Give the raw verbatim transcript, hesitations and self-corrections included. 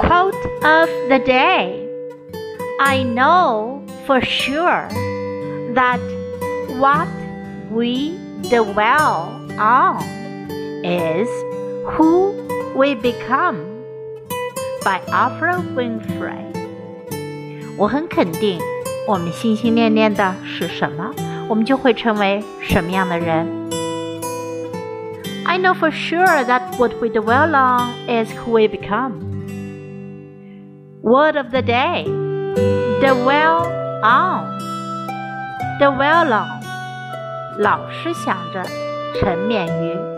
Quote of the day. I know for sure that what we dwell on is who we become. By Oprah Winfrey. 我很肯定，我们心心念念的是什么，我们就会成为什么样的人。I know for sure that what we dwell on is who we become. Word of the day. Dwell on. Dwell on. 老是想着，沉湎于